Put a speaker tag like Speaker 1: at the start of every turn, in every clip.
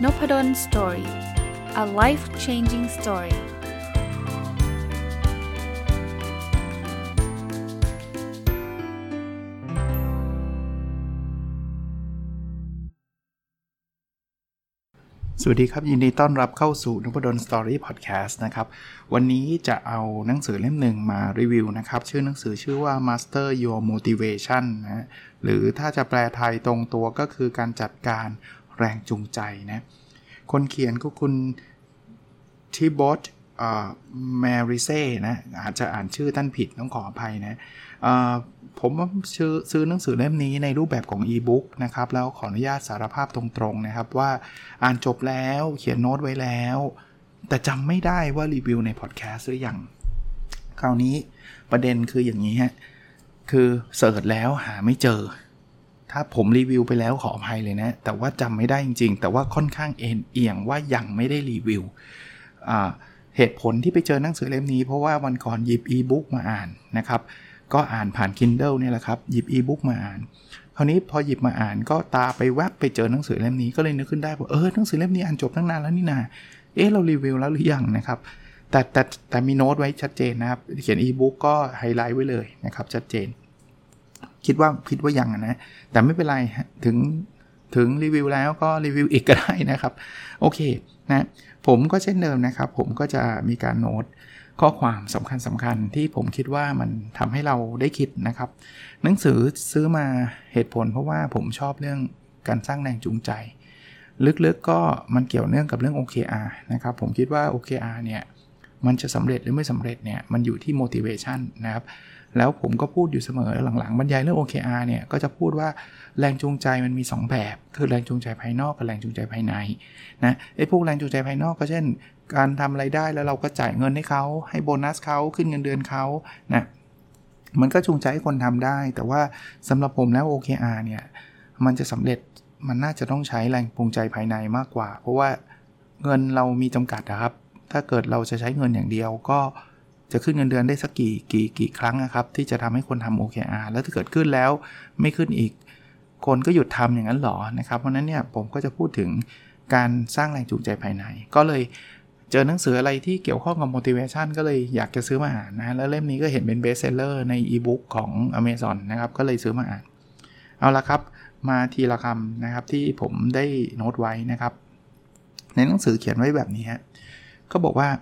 Speaker 1: Noppadan Story. A life-changing story.
Speaker 2: สวัสดีครับยินดีต้อนรับเข้าสู่ Noppadan Story Podcast นะครับวันนี้จะเอาหนังสือเล่มหนึ่งมารีวิวนะครับชื่อหนังสือชื่อว่า Master Your Motivation นะหรือถ้าจะแปลไทยตรงตัวก็คือการจัดการแรงจูงใจนะคนเขียนก็คุณทิบอตแมริเซ่นะอาจจะอ่านชื่อท่านผิดต้องขออภัยนะผมซื้อหนังสือเล่มนี้ในรูปแบบของอีบุ๊กนะครับแล้วขออนุญาตสารภาพตรงๆนะครับว่าอ่านจบแล้วเขียนโน้ตไว้แล้วแต่จำไม่ได้ว่ารีวิวในพอดแคสต์หรือยังคราวนี้ประเด็นคืออย่างนี้ฮะคือเสิร์ชแล้วหาไม่เจอถ้าผมรีวิวไปแล้วขออภัยเลยนะแต่ว่าจำไม่ได้จริงๆแต่ว่าค่อนข้างเอียงว่ายังไม่ได้รีวิวเหตุผลที่ไปเจอหนังสือเล่มนี้เพราะว่าวันก่อนหยิบอีบุ๊กมาอ่านนะครับก็อ่านผ่าน Kindle เนี่ยแหละครับหยิบอีบุ๊กมาอ่านคราวนี้พอหยิบมาอ่านก็ตาไปแวบไปเจอหนังสือเล่มนี้ก็เลยนึกขึ้นได้ว่าหนังสือเล่มนี้อ่านจบตั้งนานแล้วนี่นาเรารีวิวแล้วหรือยังนะครับแต่มีโน้ตไว้ชัดเจนนะครับเขียนอีบุ๊กก็ไฮไลท์ไว้เลยนะครับชัดเจนคิดว่ายังนะแต่ไม่เป็นไรถึงรีวิวแล้วก็รีวิวอีกก็ได้นะครับโอเคนะผมก็เช่นเดิมนะครับผมก็จะมีการโน้ตข้อความสำคัญที่ผมคิดว่ามันทำให้เราได้คิดนะครับหนังสือซื้อมาเหตุผลเพราะว่าผมชอบเรื่องการสร้างแรงจูงใจลึกๆก็มันเกี่ยวเนื่องกับเรื่อง OKR นะครับผมคิดว่า OKR เนี่ยมันจะสำเร็จหรือไม่สำเร็จเนี่ยมันอยู่ที่ motivation นะครับแล้วผมก็พูดอยู่เสมอหลังๆบรรยายเรื่อง OKR เนี่ยก็จะพูดว่าแรงจูงใจมันมี2แบบคือแรงจูงใจภายนอกกับแรงจูงใจภายในนะพวกแรงจูงใจภายนอกก็เช่นการทำอะไรได้แล้วเราก็จ่ายเงินให้เขาให้โบนัสเขาขึ้นเงินเดือนเขานะมันก็จูงใจให้คนทำได้แต่ว่าสำหรับผมแล้ว OKR เนี่ยมันจะสำเร็จมันน่าจะต้องใช้แรงจูงใจภายในมากกว่าเพราะว่าเงินเรามีจำกัดนะครับถ้าเกิดเราจะใช้เงินอย่างเดียวก็จะขึ้นเงินเดือนได้สักกี่ครั้งนะครับที่จะทำให้คนทำ OKR แล้วถ้าเกิดขึ้นแล้วไม่ขึ้นอีกคนก็หยุดทำอย่างนั้นหรอนะครับเพราะนั้นเนี่ยผมก็จะพูดถึงการสร้างแรงจูงใจภายในก็เลยเจอหนังสืออะไรที่เกี่ยวข้องกับ motivation ก็เลยอยากจะซื้อมาอ่านนะแล้วเล่มนี้ก็เห็นเป็น best seller ใน e-book ของ Amazon นะครับก็เลยซื้อมาอ่านเอาละครับมาทีละคำนะครับที่ผมได้โน้ตไว้นะครับในหนังสือเขียนไว้แบบนี้ฮะเขาบอกว่า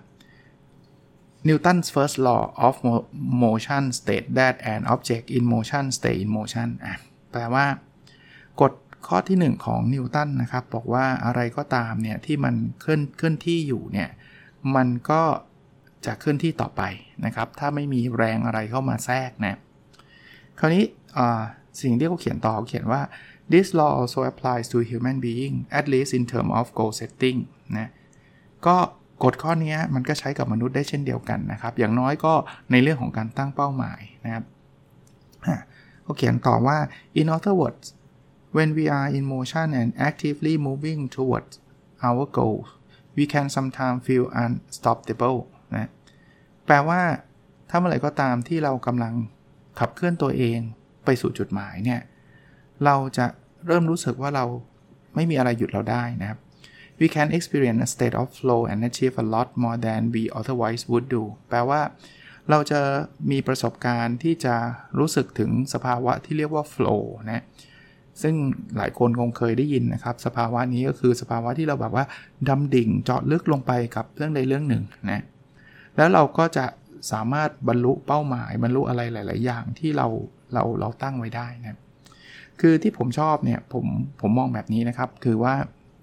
Speaker 2: Newton's first law of motion states that an object in motion stays in motion แปลว่ากฎข้อที่1ของนิวตันนะครับบอกว่าอะไรก็ตามเนี่ยที่มันเคลื่อนที่อยู่เนี่ยมันก็จะเคลื่อนที่ต่อไปนะครับถ้าไม่มีแรงอะไรเข้ามาแทรกนะคราวนี้สิ่งที่เขาเขียนต่อเขาเขียนว่า this law also applies to human being at least in terms of goal setting นะก็กฎข้อนี้มันก็ใช้กับมนุษย์ได้เช่นเดียวกันนะครับอย่างน้อยก็ในเรื่องของการตั้งเป้าหมายนะครับเขาเขียนต่อว่า in other words when we are in motion and actively moving towards our goals we can sometimes feel unstoppable นะแปลว่าถ้าเมื่อไหร่ก็ตามที่เรากำลังขับเคลื่อนตัวเองไปสู่จุดหมายเนี่ยเราจะเริ่มรู้สึกว่าเราไม่มีอะไรหยุดเราได้นะครับWe can experience a state of flow and achieve a lot more than we otherwise would do แปลว่าเราจะมีประสบการณ์ที่จะรู้สึกถึงสภาวะที่เรียกว่า flow นะซึ่งหลายคนคงเคยได้ยินนะครับสภาวะนี้ก็คือสภาวะที่เราแบบว่าดำดิ่งเจาะลึกลงไปกับเรื่องใดเรื่องหนึ่งนะแล้วเราก็จะสามารถบรรลุเป้าหมายบรรลุอะไรหลายๆอย่างที่เราตั้งไว้ได้นะคือที่ผมชอบเนี่ยผมมองแบบนี้นะครับคือว่า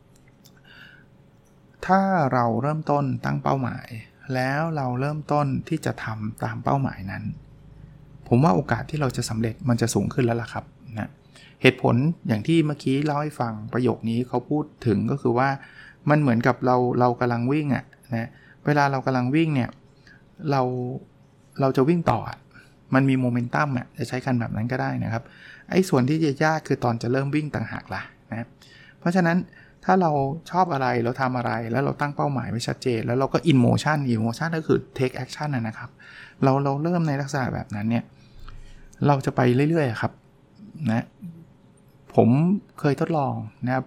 Speaker 2: ถ้าเราเริ่มต้นตั้งเป้าหมายแล้วเราเริ่มต้นที่จะทำตามเป้าหมายนั้นผมว่าโอกาสที่เราจะสำเร็จมันจะสูงขึ้นแล้วล่ะครับนะเหตุผลอย่างที่เมื่อกี้เล่าให้ฟังประโยคนี้เขาพูดถึงก็คือว่ามันเหมือนกับเรากำลังวิ่งนะเวลาเรากำลังวิ่งเนี่ยเราจะวิ่งต่อมันมีโมเมนตัมจะใช้กันแบบนั้นก็ได้นะครับไอ้ส่วนที่จะยากคือตอนจะเริ่มวิ่งต่างหากล่ะนะเพราะฉะนั้นถ้าเราชอบอะไรเราทำอะไรแล้วเราตั้งเป้าหมายไว้ชัดเจนแล้วเราก็ in motion ก็คือ take action นะครับเราเริ่มในลักษณะแบบนั้นเนี่ยเราจะไปเรื่อยๆครับนะผมเคยทดลองนะครับท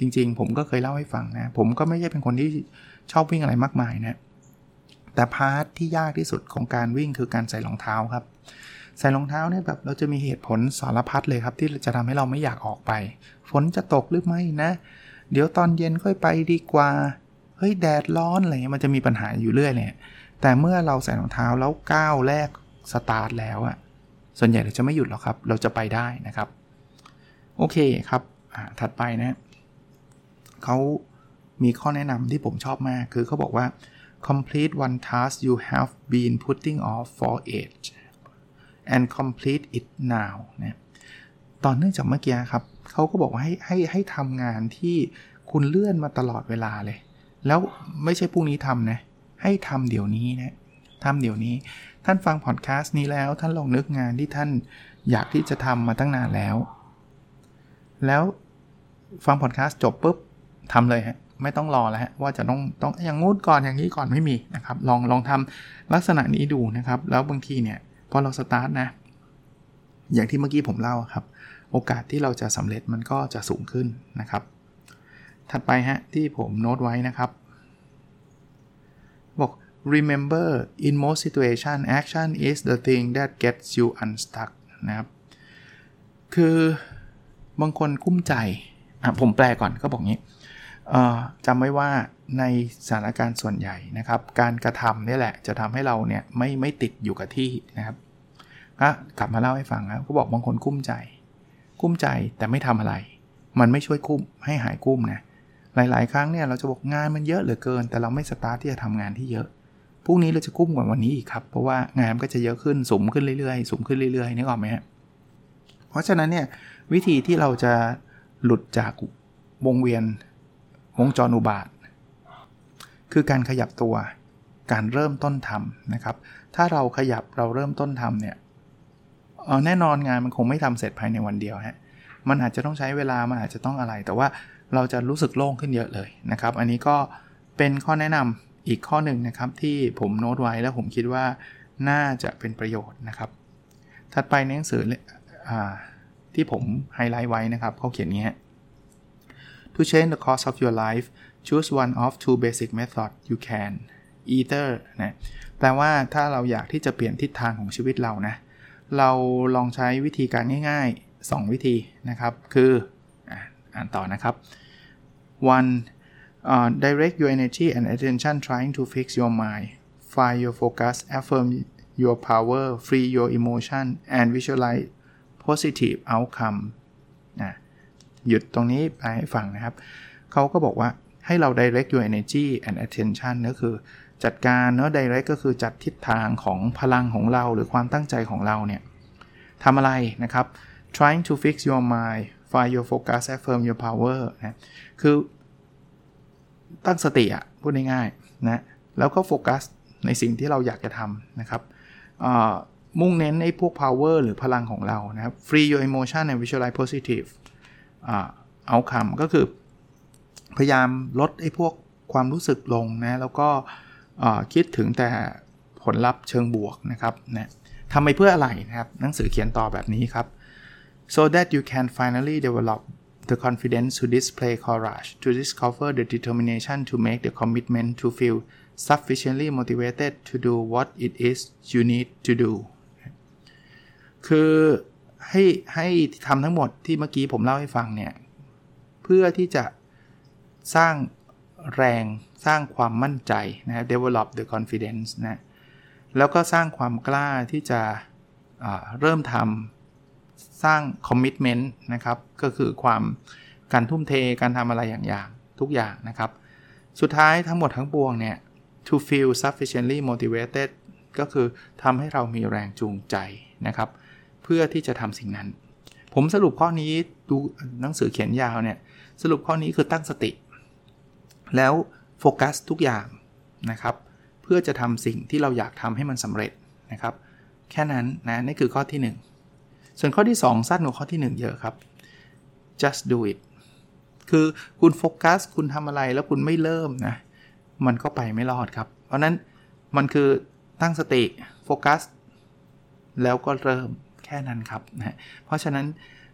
Speaker 2: จริงๆผมก็เคยเล่าให้ฟังนะผมก็ไม่ใช่เป็นคนที่ชอบวิ่งอะไรมากมายนะแต่พาร์ทที่ยากที่สุดของการวิ่งคือการใส่รองเท้าครับใส่รองเท้าเนี่ยแบบเราจะมีเหตุผลสารพัดเลยครับที่จะทำให้เราไม่อยากออกไปฝนจะตกหรือไม่นะเดี๋ยวตอนเย็นค่อยไปดีกว่าเฮ้ยแดดร้อนอะไรเงี้ยมันจะมีปัญหาอยู่เรื่อยเลยแต่เมื่อเราใส่รองเท้าแล้วก้าวแรกสตาร์ทแล้วอะส่วนใหญ่เราจะไม่หยุดหรอกครับเราจะไปได้นะครับโอเคครับถัดไปนะเขามีข้อแนะนำที่ผมชอบมากคือเขาบอกว่า complete one task you have been putting off for age and complete it now นะตอนเนื่องจากเมื่อกี้ครับเขาก็บอกว่าให้ทำงานที่คุณเลื่อนมาตลอดเวลาเลยแล้วไม่ใช่พรุ่งนี้ทำนะให้ทำเดี๋ยวนี้นะทำเดี๋ยวนี้ท่านฟังพอดแคสต์นี้แล้วท่านลองนึกงานที่ท่านอยากที่จะทำมาตั้งนานแล้วฟังพอดแคสต์จบปุ๊บทำเลยฮะไม่ต้องรอแล้วฮะว่าจะต้องอย่างงู้นก่อนอย่างนี้ก่อนไม่มีนะครับลองทำลักษณะนี้ดูนะครับแล้วบางทีเนี่ยพอเราสตาร์ทนะอย่างที่เมื่อกี้ผมเล่าครับโอกาสที่เราจะสำเร็จมันก็จะสูงขึ้นนะครับถัดไปฮะที่ผมโน้ตไว้นะครับบอก remember in most situation action is the thing that gets you unstuck นะครับคือบางคนกุ้มใจผมแปลก่อนก็บอกงี้จำไว้ว่าในสถานการณ์ส่วนใหญ่นะครับการกระทำนี่แหละจะทำให้เราเนี่ยไม่ติดอยู่กับที่นะครับก็กลับมาเล่าให้ฟังนะเขาบอกบางคนกุ้มใจแต่ไม่ทำอะไรมันไม่ช่วยกุ้มให้หายกุ้มนะหลายๆครั้งเนี่ยเราจะบอกงานมันเยอะเหลือเกินแต่เราไม่สตาร์ทที่จะทำงานที่เยอะพรุ่งนี้เราจะกุ้มกว่าวันนี้อีกครับเพราะว่างานก็จะเยอะขึ้นสูงขึ้นเรื่อยๆสูงขึ้นเรื่อยๆนึกออกไหมฮะเพราะฉะนั้นเนี่ยวิธีที่เราจะหลุดจากวงจรอุบาทคือการขยับตัวการเริ่มต้นทำนะครับถ้าเราขยับเราเริ่มต้นทำเนี่ยแน่นอนงานมันคงไม่ทำเสร็จภายในวันเดียวฮะมันอาจจะต้องใช้เวลามันอาจจะต้องอะไรแต่ว่าเราจะรู้สึกโล่งขึ้นเยอะเลยนะครับอันนี้ก็เป็นข้อแนะนำอีกข้อหนึ่งนะครับที่ผมโน้ตไว้แล้วผมคิดว่าน่าจะเป็นประโยชน์นะครับถัดไปในหนังสือที่ผมไฮไลท์ไว้นะครับเขาเขียนงี้ฮะ To change the course of your life choose one of two basic methods you can either นะแปลว่าถ้าเราอยากที่จะเปลี่ยนทิศทางของชีวิตเรานะเราลองใช้วิธีการง่ายๆ2วิธีนะครับคืออ่านต่อนะครับ one direct your energy and attention trying to fix your mind find your focus affirm your power free your emotion and visualize positive outcome หยุดตรงนี้ไปให้ฟังนะครับเขาก็บอกว่าให้เรา direct your energy and attention ก็คือจัดการเนาะ direct ก็คือจัดทิศทางของพลังของเราหรือความตั้งใจของเราเนี่ยทำอะไรนะครับ trying to fix your mind find your focus affirm your power นะคือตั้งสติพูดง่ายๆนะแล้วก็โฟกัสในสิ่งที่เราอยากจะทำนะครับมุ่งเน้นไอ้พวก power หรือพลังของเรานะครับ free your emotion and visualize positive outcome ก็คือพยายามลดไอ้พวกความรู้สึกลงนะแล้วก็คิดถึงแต่ผลลัพธ์เชิงบวกนะครับนะทำไปเพื่ออะไรนะครับหนังสือเขียนต่อแบบนี้ครับ so that you can finally develop the confidence to display courage to discover the determination to make the commitment to feel sufficiently motivated to do what it is you need to do คือให้ทำทั้งหมดที่เมื่อกี้ผมเล่าให้ฟังเนี่ยเพื่อที่จะสร้างแรงสร้างความมั่นใจนะ develop the confidence นะแล้วก็สร้างความกล้าที่จะเริ่มทำสร้าง commitment นะครับก็คือการทุ่มเทการทำอะไรอย่างทุกอย่างนะครับสุดท้ายทั้งหมดทั้งปวงเนี่ย to feel sufficiently motivated ก็คือทำให้เรามีแรงจูงใจนะครับเพื่อที่จะทำสิ่งนั้นผมสรุปข้อนี้ดูหนังสือเขียนยาวเนี่ยสรุปข้อนี้คือตั้งสติแล้วโฟกัสทุกอย่างนะครับเพื่อจะทำสิ่งที่เราอยากทำให้มันสำเร็จนะครับแค่นั้นนะนี่คือข้อที่1ส่วนข้อที่2สั้นกว่าข้อที่1เยอะครับ just do it คือคุณโฟกัสคุณทำอะไรแล้วคุณไม่เริ่มนะมันก็ไปไม่รอดครับเพราะนั้นมันคือตั้งสติโฟกัสแล้วก็เริ่มแค่นั้นครับนะเพราะฉะนั้น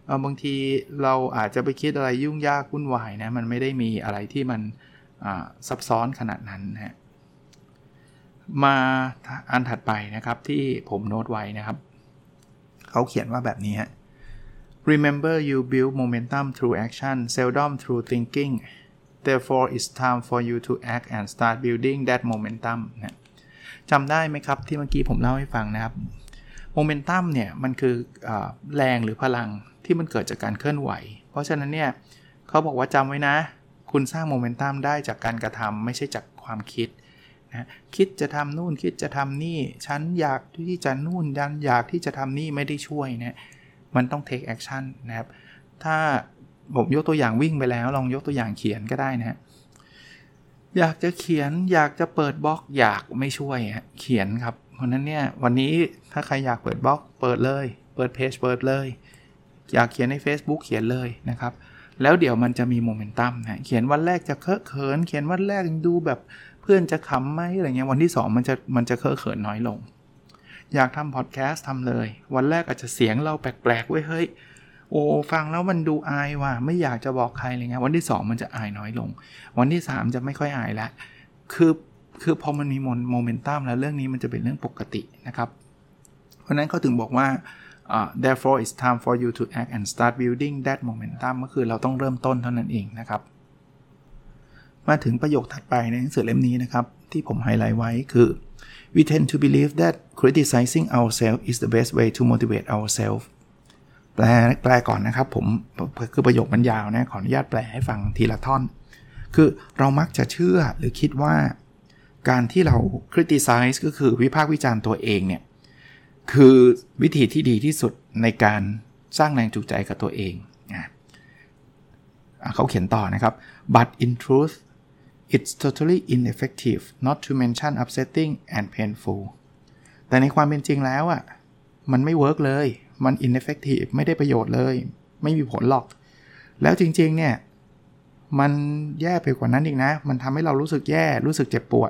Speaker 2: บางทีเราอาจจะไปคิดอะไรยุ่งยากวุ่นวายนะมันไม่ได้มีอะไรที่มันซับซ้อนขนาดนั้นนะมาอันถัดไปนะครับที่ผมโน้ตไว้นะครับเขาเขียนว่าแบบนี้ฮะ Remember you build momentum through action seldom through thinking therefore it's time for you to act and start building that momentum นะจำได้ไหมครับที่เมื่อกี้ผมเล่าให้ฟังนะครับโมเมนตัมเนี่ยมันคือแรงหรือพลังที่มันเกิดจากการเคลื่อนไหวเพราะฉะนั้นเนี่ยเขาบอกว่าจำไว้นะคุณสร้างโมเมนตัมได้จากการกระทำไม่ใช่จากความคิดนะคิดจะทำนู่นคิดจะทำนี่ฉันอยากที่จะนู่นดันอยากที่จะทำนี่ไม่ได้ช่วยนะมันต้อง take action นะครับถ้าผมยกตัวอย่างวิ่งไปแล้วลองยกตัวอย่างเขียนก็ได้นะอยากจะเขียนอยากจะเปิดบล็อกอยากไม่ช่วยเขียนครับเพราะนั้นเนี่ยวันนี้ถ้าใครอยากเปิดบล็อกเปิดเลยเปิดเพจเปิดเลยอยากเขียนใน Facebook เขียนเลยนะครับแล้วเดี๋ยวมันจะมีโมเมนตัมนะเขียนวันแรกจะเคอะเขินเขียนวันแรกดูแบบเพื่อนจะขำไหมอะไรเงี้ยวันที่2มันจะเคอะเขินน้อยลงอยากทำพอดแคสต์ทำเลยวันแรกอาจจะเสียงเราแปลกๆเว้ยเฮ้ยโอ้ฟังแล้วมันดูอายว่ะไม่อยากจะบอกใครอะไรเงี้ยวันที่2มันจะอายน้อยลงวันที่3จะไม่ค่อยอายแล้วคือพอมันมีโมเมนตัมแล้วเรื่องนี้มันจะเป็นเรื่องปกตินะครับเพราะนั้นเขาถึงบอกว่าtherefore it's time for you to act and start building that momentum ก็คือเราต้องเริ่มต้นเท่านั้นเองนะครับมาถึงประโยคถัดไปในหนังสือเล่มนี้นะครับที่ผมไฮไลท์ไว้คือ we tend to believe that criticizing ourselves is the best way to motivate ourselves แปลก่อนนะครับผมคือประโยคมันยาวนะขออนุญาตแปลให้ฟังทีละท่อนคือเรามักจะเชื่อหรือคิดว่าการที่เรา criticize ก็คือวิพากษ์วิจารณ์ตัวเองเนี่ยคือวิธีที่ดีที่สุดในการสร้างแรงจูงใจกับตัวเองเขาเขียนต่อนะครับ but in truth it's totally ineffective not to mention upsetting and painful แต่ในความเป็นจริงแล้วมันไม่เวิร์กเลยมัน ineffective ไม่ได้ประโยชน์เลยไม่มีผลหรอกแล้วจริงๆเนี่ยมันแย่ไปกว่านั้นอีกนะมันทำให้เรารู้สึกแย่รู้สึกเจ็บปวด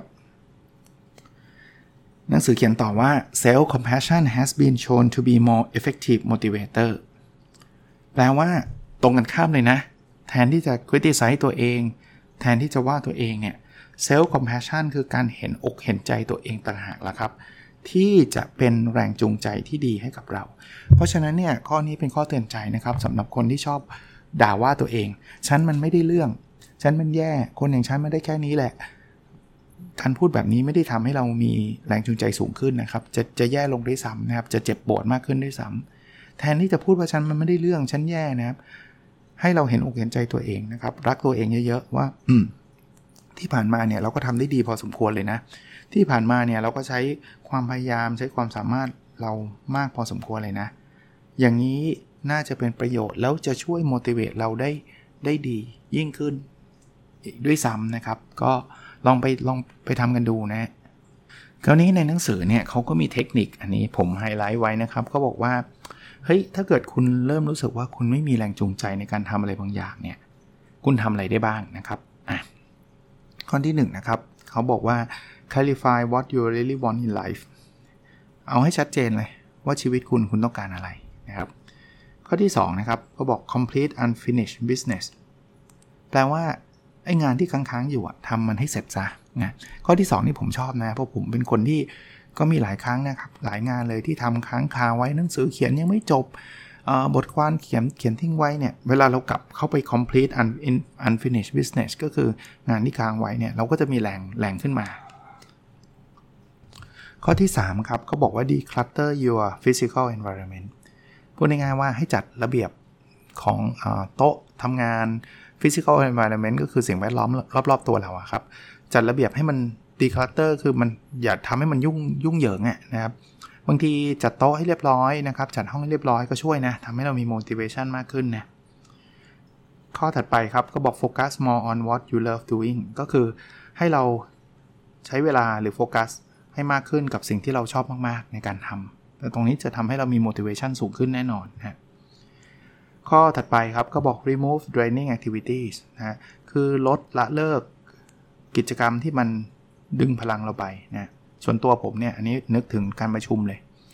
Speaker 2: หนังสือเขียนต่อว่า self compassion has been shown to be more effective motivator แปลว่าตรงกันข้ามเลยนะแทนที่จะ criticize ตัวเองแทนที่จะว่าตัวเองเนี่ย self compassion คือการเห็นอกเห็นใจตัวเองต่างหากล่ะครับที่จะเป็นแรงจูงใจที่ดีให้กับเราเพราะฉะนั้นเนี่ยข้อนี้เป็นข้อเตือนใจนะครับสำหรับคนที่ชอบด่าว่าตัวเองฉันมันไม่ได้เรื่องฉันมันแย่คนอย่างฉันไม่ได้แค่นี้แหละการพูดแบบนี้ไม่ได้ทำให้เรามีแรงจูงใจสูงขึ้นนะครับจะแย่ลงด้วยซ้ำนะครับจะเจ็บปวดมากขึ้นด้วยซ้ำแทนที่จะพูดว่าฉันมันไม่ได้เรื่องฉันแย่นะครับให้เราเห็นอกเห็นใจตัวเองนะครับรักตัวเองเยอะๆว่าที่ผ่านมาเนี่ยเราก็ทำได้ดีพอสมควรเลยนะที่ผ่านมาเนี่ยเราก็ใช้ความพยายามใช้ความสามารถเรามากพอสมควรเลยนะอย่างนี้น่าจะเป็นประโยชน์แล้วจะช่วย motivate เราได้ดียิ่งขึ้นด้วยซ้ำนะครับก็ลองไปทำกันดูนะคราวนี้ในหนังสือเนี่ยเขาก็มีเทคนิคอันนี้ผมไฮไลท์ไว้นะครับเขาบอกว่าเฮ้ยถ้าเกิดคุณเริ่มรู้สึกว่าคุณไม่มีแรงจูงใจในการทำอะไรบางอย่างเนี่ยคุณทำอะไรได้บ้างนะครับข้อที่1นะครับเขาบอกว่า clarify what you really want in life เอาให้ชัดเจนเลยว่าชีวิตคุณต้องการอะไรนะครับข้อที่2นะครับเขาบอก complete unfinished business แปลว่าไอ้งานที่ค้างๆอยู่ทำมันให้เสร็จซะนะข้อที่2นี่ผมชอบนะเพราะผมเป็นคนที่ก็มีหลายครั้งนะครับหลายงานเลยที่ทำค้างคาไว้หนังสือเขียนยังไม่จบบทความเขียนทิ้งไว้เนี่ยเวลาเรากลับเข้าไป complete unfinished business ก็คืองานที่ค้างไว้เนี่ยเราก็จะมีแรงขึ้นมาข้อที่3ครับเขาบอกว่า declutter your physical environment พูดง่ายๆว่าให้จัดระเบียบของโต๊ะทำงาน physical environment ก็คือสิ่งแวดล้อมรอบๆตัวเราครับจัดระเบียบให้มัน declutter คือมันอย่าทำให้มันยุ่งเหยิงนะครับบางทีจัดโต๊ะให้เรียบร้อยนะครับจัดห้องให้เรียบร้อยก็ช่วยนะทำให้เรามี motivation มากขึ้นนะข้อถัดไปครับก็บอก focus more on what you love doing ก็คือให้เราใช้เวลาหรือโฟกัสให้มากขึ้นกับสิ่งที่เราชอบมากๆในการทำแต่ตรงนี้จะทำให้เรามี motivation สูงขึ้นแน่นอนนะข้อถัดไปครับก็บอก remove draining activities นะคือลดละเลิกกิจกรรมที่มันดึงพลังเราไปนะส่วนตัวผมเนี่ยอันนี้นึกถึงการประชุมเลย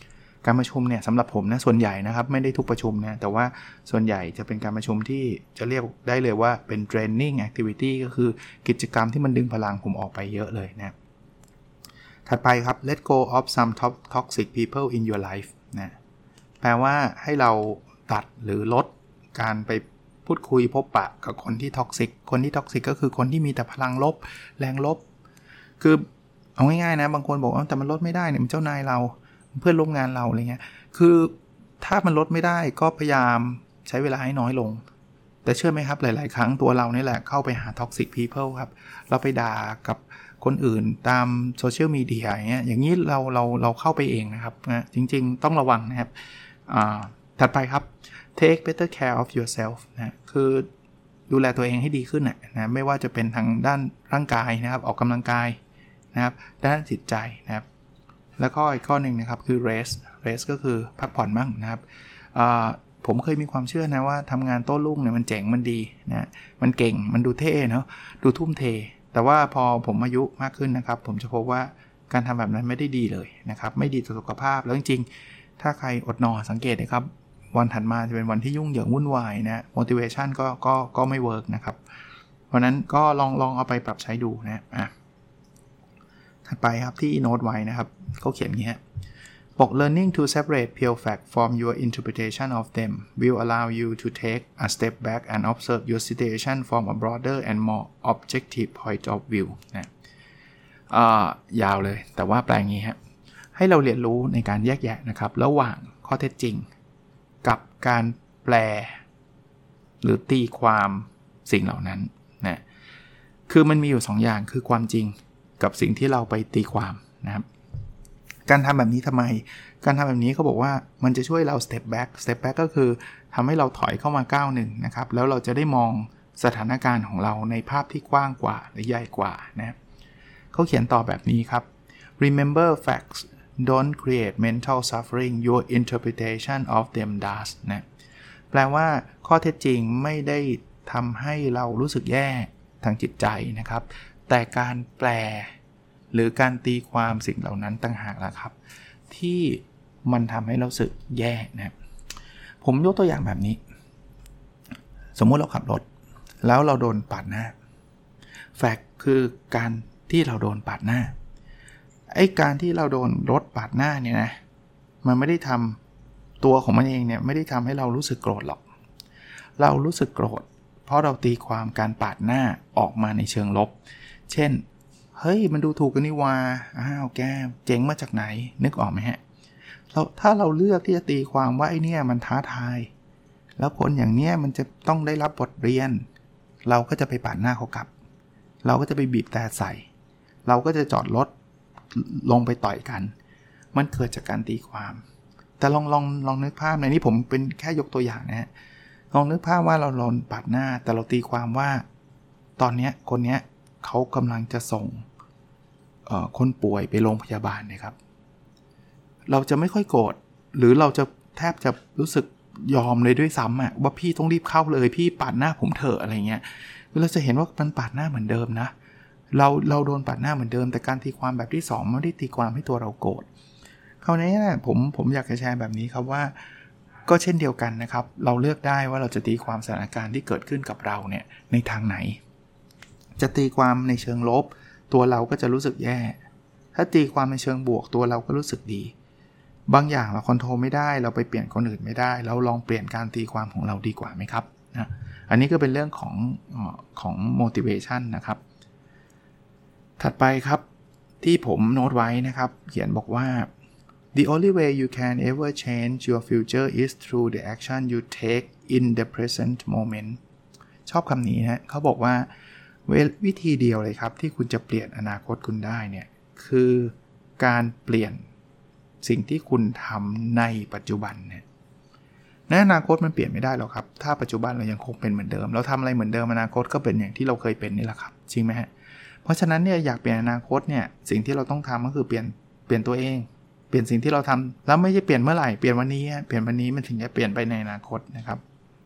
Speaker 2: การประชุมเนี่ยสำหรับผมนะส่วนใหญ่นะครับไม่ได้ทุกประชุมนะแต่ว่าส่วนใหญ่จะเป็นการประชุมที่จะเรียกได้เลยว่าเป็น draining activity ก็คือกิจกรรมที่มันดึงพลังผมออกไปเยอะเลยนะถัดไปครับ let go of some toxic people in your life นะแปลว่าให้เราตัดหรือลดการไปพูดคุยพบปะกับคนที่ท็อกซิกก็คือคนที่มีแต่พลังลบแรงลบคือเอาง่ายๆนะบางคนบอกว่าแต่มันลดไม่ได้เนี่ยมันเจ้านายเราเพื่อนร่วมงานเราอะไรเงี้ยคือถ้ามันลดไม่ได้ก็พยายามใช้เวลาให้น้อยลงแต่เชื่อไหมครับหลายๆครั้งตัวเรานี่แหละเข้าไปหา toxic people ครับเราไปด่ากับคนอื่นตามโซเชียลมีเดียอย่างนี้เราเข้าไปเองนะครับนะจริงๆต้องระวังนะครับถัดไปครับ take better care of yourself นะคือดูแลตัวเองให้ดีขึ้นนะไม่ว่าจะเป็นทางด้านร่างกายนะครับออกกำลังกายนะครับด้านจิตใจนะครับแล้วก็อีกข้อหนึ่งนะครับคือ rest ก็คือพักผ่อนบ้างนะครับผมเคยมีความเชื่อนะว่าทำงานโต้รุ่งเนี่ยมันเจ๋งมันดีนะมันเก่งมันดูเท่เนาะดูทุ่มเทแต่ว่าพอผมอายุมากขึ้นนะครับผมจะพบว่าการทำแบบนั้นไม่ได้ดีเลยนะครับไม่ดีต่อสุขภาพแล้วจริงๆถ้าใครอดนอนสังเกตนะครับวันถัดมาจะเป็นวันที่ยุ่งเหยิงวุ่นวายนะ motivation ก็ไม่เวิร์กนะครับเพราะนั้นก็ลองเอาไปปรับใช้ดูนะถัดไปครับที่โน้ตไว้นะครับเขาเขียนอย่างนี้ฮะบอก learning to separate pure fact from your interpretation of them will allow you to take a step back and observe your situation from a broader and more objective point of view นะยาวเลยแต่ว่าแปลงี้ฮะให้เราเรียนรู้ในการแยกแยะนะครับระหว่างข้อเท็จจริงกับการแปลหรือตีความสิ่งเหล่านั้นนะคือมันมีอยู่2 อย่างคือความจริงกับสิ่งที่เราไปตีความนะครับการทำแบบนี้ทำไมการทำแบบนี้เขาบอกว่ามันจะช่วยเรา step back ก็คือทำให้เราถอยเข้ามาก้าวหนึ่งนะครับแล้วเราจะได้มองสถานการณ์ของเราในภาพที่กว้างกว่าหรือใหญ่กว่านะเขาเขียนต่อแบบนี้ครับ remember facts don't create mental suffering your interpretation of them does นะแปลว่าข้อเท็จจริงไม่ได้ทำให้เรารู้สึกแย่ทางจิตใจนะครับแต่การแปลหรือการตีความสิ่งเหล่านั้นต่างหากล่ะครับที่มันทำให้เรารู้สึกแย่นะผมยกตัวอย่างแบบนี้สมมุติเราขับรถแล้วเราโดนปาดหน้าแฟกต์คือการที่เราโดนปาดหน้าไอ้การที่เราโดนรถปาดหน้าเนี่ยนะมันไม่ได้ทำตัวของมันเองเนี่ยไม่ได้ทำให้เรารู้สึกโกรธหรอกเรารู้สึกโกรธเพราะเราตีความการปาดหน้าออกมาในเชิงลบเช่นเฮ้ยมันดูถูกกันนี่ว่าแกเจ๋งมาจากไหนนึกออกไหมฮะถ้าเราเลือกที่จะตีความว่าไอ้เนี่ยมันท้าทายแล้วคนอย่างเนี้ยมันจะต้องได้รับบทเรียนเราก็จะไปปาดหน้าเขากลับเราก็จะไปบีบแต่ใส่เราก็จะจอดรถลงไปต่อยกันมันเกิดจากการตีความแต่ลองนึกภาพในนี้ผมเป็นแค่ยกตัวอย่างนะฮะลองนึกภาพว่าเราโดนปาดหน้าแต่เราตีความว่าตอนนี้คนเนี้ยเขากำลังจะส่งคนป่วยไปโรงพยาบาลนะครับเราจะไม่ค่อยโกรธหรือเราจะแทบจะรู้สึกยอมเลยด้วยซ้ำว่าพี่ต้องรีบเข้าเลยพี่ปาดหน้าผมเถอะอะไรเงี้ยเราจะเห็นว่ามันปาดหน้าเหมือนเดิมนะเราโดนปาดหน้าเหมือนเดิมแต่การตีความแบบที่2ไม่ได้ตีความให้ตัวเราโกรธคราวนี้นะผมอยากจะแชร์แบบนี้ครับว่าก็เช่นเดียวกันนะครับเราเลือกได้ว่าเราจะตีความสถานการณ์ที่เกิดขึ้นกับเราเนี่ยในทางไหนจะตีความในเชิงลบตัวเราก็จะรู้สึกแย่ถ้าตีความในเชิงบวกตัวเราก็รู้สึกดีบางอย่างเราคอนโทรลไม่ได้เราไปเปลี่ยนคนอื่นไม่ได้เราลองเปลี่ยนการตีความของเราดีกว่าไหมครับนะอันนี้ก็เป็นเรื่องของ motivation นะครับถัดไปครับที่ผมโน้ตไว้นะครับเขียนบอกว่า The only way you can ever change your future is through the action you take in the present moment ชอบคำนี้นะเขาบอกว่าวิธีเดียวเลยครับที่คุณจะเปลี่ยนอนาคตคุณได้เนี่ยคือการเปลี่ยนสิ่งที่คุณทำในปัจจุบันเนี่ยในอนาคตมันเปลี่ยนไม่ได้หรอกครับถ้าปัจจุบันเรายังคงเป็นเหมือนเดิมเราทำอะไรเหมือนเดิมอนาคตก็เป็นอย่างที่เราเคยเป็นนี่แหละครับจริงไหมฮะเพราะฉะนั้นเนี่ยอยากเปลี่ยนอนาคตเนี่ยสิ่งที่เราต้องทำก็คือเปลี่ยนตัวเองเปลี่ยนสิ่งที่เราทำแล้วไม่ใช่เปลี่ยนเมื่อไหร่เปลี่ยนวันนี้เปลี่ยนวันนี้มันถึงจะเปลี่ยนไปในอนาคตนะครับ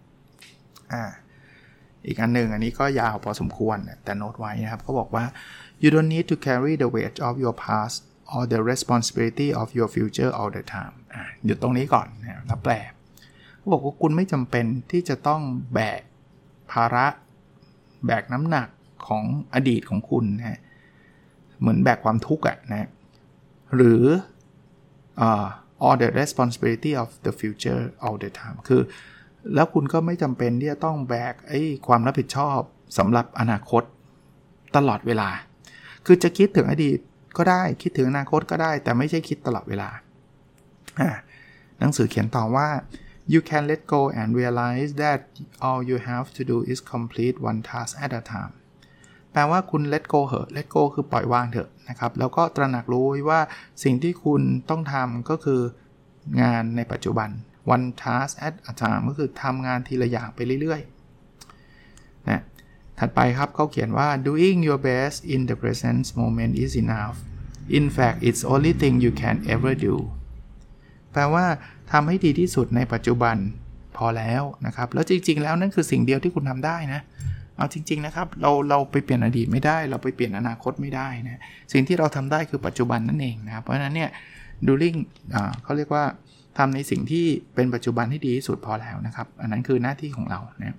Speaker 2: อีกอันหนึ่งอันนี้ก็ยาวพอสมควรแต่โน้ตไว้นะครับเขาบอกว่า you don't need to carry the weight of your past or the responsibility of your future all the time หยุดตรงนี้ก่อนนะแล้วแปลเขาบอกว่าคุณไม่จำเป็นที่จะต้องแบกภาระแบกน้ำหนักของอดีตของคุณนะเหมือนแบกความทุกข์นะหรือall the responsibility of the future all the time คือแล้วคุณก็ไม่จำเป็นที่จะต้องแบกความรับผิดชอบสำหรับอนาคตตลอดเวลาคือจะคิดถึงอดีตก็ได้คิดถึงอนาคตก็ได้แต่ไม่ใช่คิดตลอดเวลาหนังสือเขียนต่อว่า you can let go and realize that all you have to do is complete one task at a time แปลว่าคุณ let go เหอะ let go คือปล่อยวางเถอะนะครับแล้วก็ตระหนักรู้ว่าสิ่งที่คุณต้องทำก็คืองานในปัจจุบัน one task at a time ก็คือทำงานทีละอย่างไปเรื่อยๆนะถัดไปครับเขาเขียนว่า doing your best in the present moment is enough in fact it's only thing you can ever do แปลว่าทำให้ดีที่สุดในปัจจุบันพอแล้วนะครับแล้วจริงๆแล้วนั่นคือสิ่งเดียวที่คุณทำได้นะเอาจริงๆนะครับเราไปเปลี่ยนอดีตไม่ได้เราไปเปลี่ยนอนาคตไม่ได้นะสิ่งที่เราทำได้คือปัจจุบันนั่นเองนะครับเพราะฉะนั้นเนี่ย doing เขาเรียกว่าทำในสิ่งที่เป็นปัจจุบันให้ดีที่สุดพอแล้วนะครับอันนั้นคือหน้าที่ของเรานะ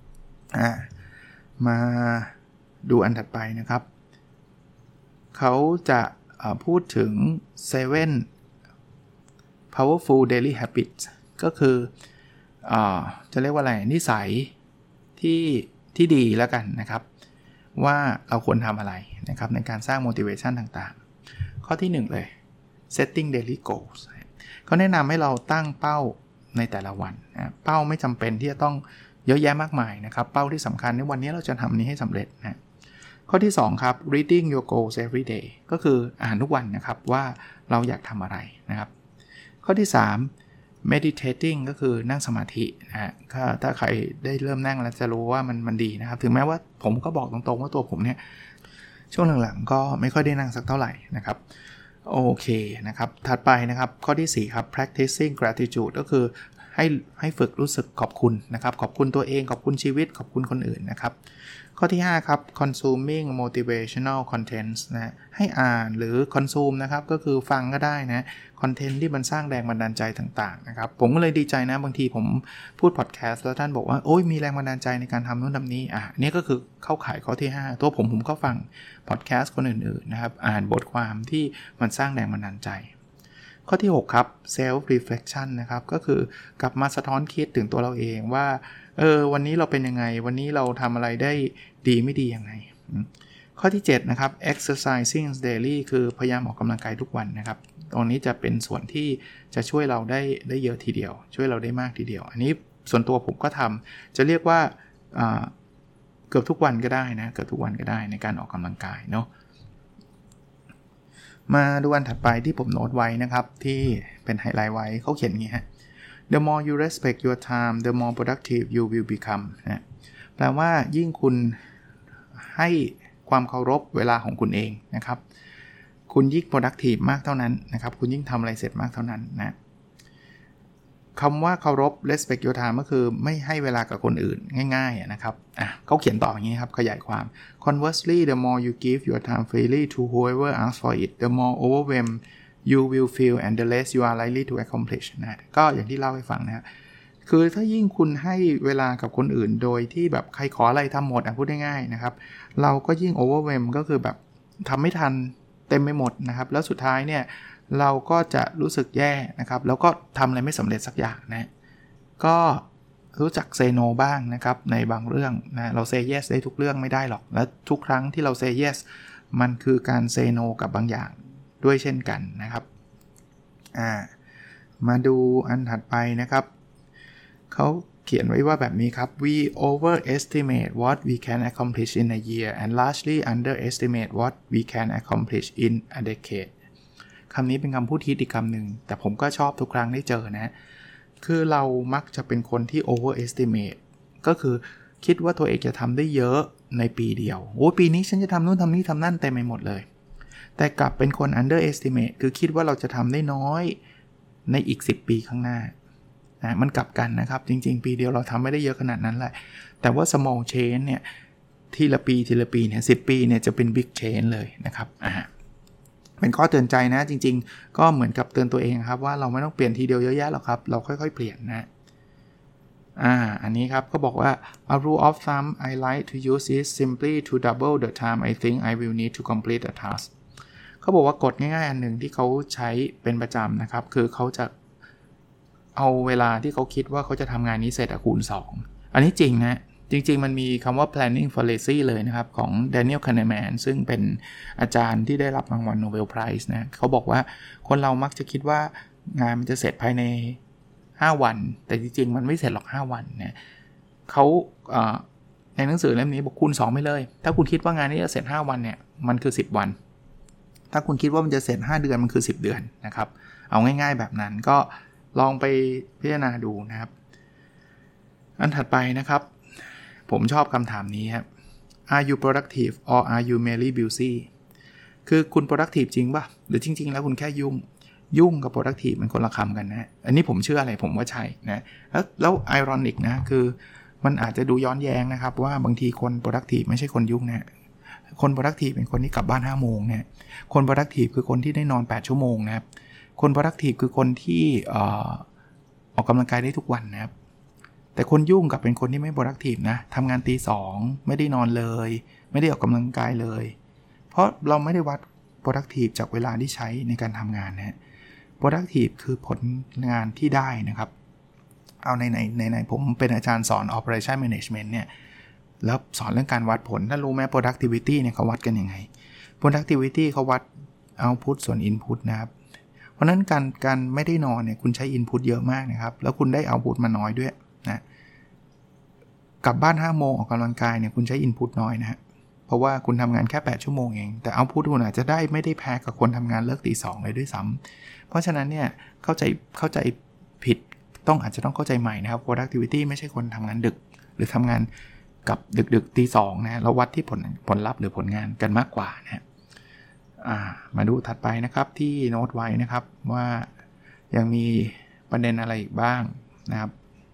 Speaker 2: มาดูอันถัดไปนะครับเขาจะพูดถึง 7 powerful daily habits ก็คือจะเรียกว่าอะไรนิสัยที่ดีแล้วกันนะครับว่าเราควรทำอะไรนะครับในการสร้าง motivation ต่างๆข้อที่1เลย setting daily goals เขาแนะนำให้เราตั้งเป้าในแต่ละวันนะเป้าไม่จำเป็นที่จะต้องเยอะแยะมากมายนะครับเป้าที่สำคัญในวันนี้เราจะทำนี้ให้สำเร็จนะข้อที่2ครับ reading your goals every day ก็คืออ่านทุกวันนะครับว่าเราอยากทำอะไรนะครับข้อที่3 meditating ก็คือนั่งสมาธินะถ้าใครได้เริ่มนั่งแล้วจะรู้ว่ามันดีนะครับถึงแม้ว่าผมก็บอกตรงๆว่าตัวผมเนี่ยช่วงหลังๆก็ไม่ค่อยได้นั่งสักเท่าไหร่นะครับโอเคนะครับถัดไปนะครับข้อที่4ครับ practicing gratitude ก็คือให้ฝึกรู้สึกขอบคุณนะครับขอบคุณตัวเองขอบคุณชีวิตขอบคุณคนอื่นนะครับข้อที่5ครับ consuming motivational contents นะให้อ่านหรือ consume นะครับก็คือฟังก็ได้นะคอนเทนต์ที่มันสร้างแรงบันดาลใจต่างๆนะครับผมก็เลยดีใจนะบางทีผมพูดพอดแคสต์แล้วท่านบอกว่าโอ้ยมีแรงบันดาลใจในการทำนู่นทำนี้นี่ก็คือเข้าข่ายข้อที่5ตัวผมก็ฟังพอดแคสต์คนอื่นๆนะครับอ่านบทความที่มันสร้างแรงบันดาลใจข้อที่6ครับ self reflection นะครับก็คือกลับมาสะท้อนคิดถึงตัวเราเองว่าวันนี้เราเป็นยังไงวันนี้เราทำอะไรได้ดีไม่ดียังไงข้อที่7นะครับ exercising daily คือพยายามออกกำลังกายทุกวันนะครับตรงนี้จะเป็นส่วนที่จะช่วยเราได้เยอะทีเดียวช่วยเราได้มากทีเดียวอันนี้ส่วนตัวผมก็ทำจะเรียกว่าเกือบทุกวันก็ได้นะเกือบทุกวันก็ได้ในการออกกำลังกายเนาะมาดูอันถัดไปที่ผมโน้ตไว้นะครับที่เป็นไฮไลท์ไว้เขาเขียนอย่างนี้ฮะ The more you respect your time the more productive you will become นะแปลว่ายิ่งคุณให้ความเคารพเวลาของคุณเองนะครับคุณยิ่ง productive มากเท่านั้นนะครับคุณยิ่งทำอะไรเสร็จมากเท่านั้นนะคำว่าเคารพ respect your time ก็คือไม่ให้เวลากับคนอื่นง่ายๆนะครับเขาเขียนต่ออย่างนี้ครับขยายความ conversely the more you give your time freely to whoever asks for it the more overwhelmed you will feel and the less you are likely to accomplish นะก็อย่างที่เล่าให้ฟังนะคือถ้ายิ่งคุณให้เวลากับคนอื่นโดยที่แบบใครขออะไรทำหมดพูดง่ายๆนะครับเราก็ยิ่ง overwhelm ก็คือแบบทำไม่ทันเต็มไปหมดนะครับแล้วสุดท้ายเนี่ยเราก็จะรู้สึกแย่นะครับแล้วก็ทำอะไรไม่สำเร็จสักอย่างนะก็รู้จักเซโนบ้างนะครับในบางเรื่องนะเราเซเยสได้ทุกเรื่องไม่ได้หรอกและทุกครั้งที่เราเซเยสมันคือการเซโนกับบางอย่างด้วยเช่นกันนะครับมาดูอันถัดไปนะครับเขาเขียนไว้ว่าแบบนี้ครับ we overestimate what we can accomplish in a year and largely underestimate what we can accomplish in a decade คำนี้เป็นคำพูดฮิตอีกคำหนึ่งแต่ผมก็ชอบทุกครั้งได้เจอนะคือเรามักจะเป็นคนที่ overestimate ก็คือคิดว่าตัวเองจะทำได้เยอะในปีเดียวโอ้ปีนี้ฉันจะทำนู่นทำนี่ทำนั่นเต็มไปหมดเลยแต่กลับเป็นคน underestimate คือคิดว่าเราจะทำได้น้อยในอีก10ปีข้างหน้ามันกลับกันนะครับจริงๆปีเดียวเราทำไม่ได้เยอะขนาดนั้นแหละแต่ว่า small change เนี่ยทีละปีเนี่ย10ปีเนี่ยจะเป็น big change เลยนะครับเป็นข้อเตือนใจนะจริงๆก็เหมือนกับเตือนตัวเองครับว่าเราไม่ต้องเปลี่ยนทีเดียวเยอะแยะหรอกครับเราค่อยๆเปลี่ยนนะอันนี้ครับก็บอกว่า a rule of thumb I like to use is simply to double the time I think I will need to complete a task เขาบอกว่ากฎง่ายๆอันหนึ่งที่เขาใช้เป็นประจำนะครับคือเขาจะเอาเวลาที่เขาคิดว่าเขาจะทำงานนี้เสร็จคูณ2อันนี้จริงนะจริงๆมันมีคำว่า planning for lazy เลยนะครับของ Daniel Kahneman ซึ่งเป็นอาจารย์ที่ได้รับรางวัล Nobel Prize นะเขาบอกว่าคนเรามักจะคิดว่างานมันจะเสร็จภายใน5 วันแต่จริงๆมันไม่เสร็จหรอก5 วันนะเขาในหนังสือเล่มนี้บอกคูณ2ไปเลยถ้าคุณคิดว่างานนี้จะเสร็จ5 วันเนี่ยมันคือ10 วันถ้าคุณคิดว่ามันจะเสร็จ5 เดือนมันคือ10 เดือนนะครับเอาง่ายๆแบบนั้นก็ลองไปพิจารณาดูนะครับอันถัดไปนะครับผมชอบคำถามนี้ครับ Are you productive or are you merely busy คือคุณ productive จริงป่ะหรือจริงๆแล้วคุณแค่ยุ่งกับ productive มันคนละคำกันนะอันนี้ผมเชื่ออะไรผมว่าใช่นะแล้ว ironic นะคือมันอาจจะดูย้อนแย้งนะครับว่าบางทีคน productive ไม่ใช่คนยุ่งนะคน productive เป็นคนที่กลับบ้าน 5 โมงนะคน productive คือคนที่ได้นอน8 ชั่วโมงนะครับคน productive คือคนที่ออกกำลังกายได้ทุกวันนะครับแต่คนยุ่งกับเป็นคนที่ไม่ productive นะทำงานตี 2ไม่ได้นอนเลยไม่ได้ออกกำลังกายเลยเพราะเราไม่ได้วัด productive จากเวลาที่ใช้ในการทำงานนะ productive คือผลงานที่ได้นะครับเอาในผมเป็นอาจารย์สอน operation management เนี่ยแล้วสอนเรื่องการวัดผลถ้ารู้ไหม productivity เนี่ยเขาวัดกันยังไง productivity เขาวัด output ส่วน input นะครับเพราะนั้นการไม่ได้นอนเนี่ยคุณใช้ input เยอะมากนะครับแล้วคุณได้ output มาน้อยด้วยนะกลับบ้าน 5 โมงออกกำลังกายเนี่ยคุณใช้ input น้อยนะฮะเพราะว่าคุณทำงานแค่8 ชั่วโมงเองแต่ output คุณอาจจะได้ไม่ได้แพ้กับคนทำงานเลิกตี 2เลยด้วยซ้ำเพราะฉะนั้นเนี่ยเข้าใจผิดอาจจะต้องเข้าใจใหม่นะครับ productivity ไม่ใช่คนทำงานดึกหรือทำงานกับดึกตี 2นะเราวัดที่ผลลัพธ์หรือผลงานกันมากกว่านะมาดูถัดไปนะครับที่โน้ตไว้นะครับว่ายังมีประเด็นอะไรอีกบ้างนะครับ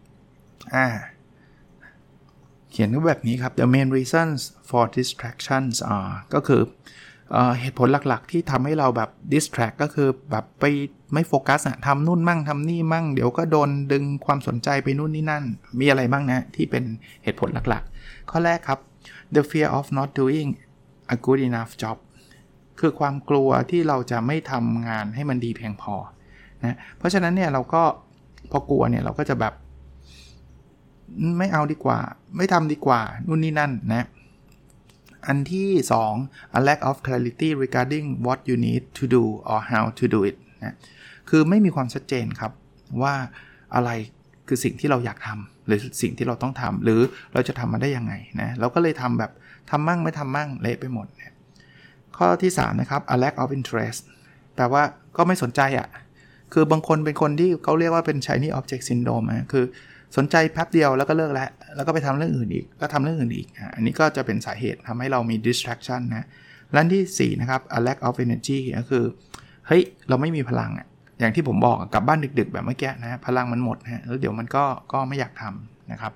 Speaker 2: เขียนแบบนี้ครับ The main reasons for distractions are ก็คือเหตุผลหลักๆที่ทำให้เราแบบ distract ก็คือแบบไปไม่โฟกัสทำนู่นมั่งทำนี่มั่งเดี๋ยวก็โดนดึงความสนใจไปนู่นนี่นั่นมีอะไรบ้างนะที่เป็นเหตุผลหลักๆข้อแรกครับ the fear of not doing a good enough job คือความกลัวที่เราจะไม่ทำงานให้มันดีเพียงพอนะเพราะฉะนั้นเนี่ยเราก็พอกลัวเนี่ยเราก็จะแบบไม่เอาดีกว่าไม่ทำดีกว่านู่นนี่นั่นนะอันที่2 a lack of clarity regarding what you need to do or how to do it นะคือไม่มีความชัดเจนครับว่าอะไรคือสิ่งที่เราอยากทำหรือสิ่งที่เราต้องทำหรือเราจะทำมันได้ยังไงนะเราก็เลยทำแบบทำมั่งไม่ทำมั่งเละไปหมดนะข้อที่3นะครับ a lack of interest แปลว่าก็ไม่สนใจคือบางคนเป็นคนที่เขาเรียกว่าเป็น shiny object syndrome คือสนใจแป๊บเดียวแล้วก็เลิกแล้วก็ไปทำเรื่องอื่นอีกก็ทำเรื่องอื่นอีกอันนี้ก็จะเป็นสาเหตุทำให้เรามี distraction นะและที่4นะครับ a lack of energy ก็คือเฮ้ยเราไม่มีพลังอย่างที่ผมบอกกลับบ้านดึกๆแบบเมื่อกี้นะพลังมันหมดนะแล้วเดี๋ยวมันก็ไม่อยากทำนะครับ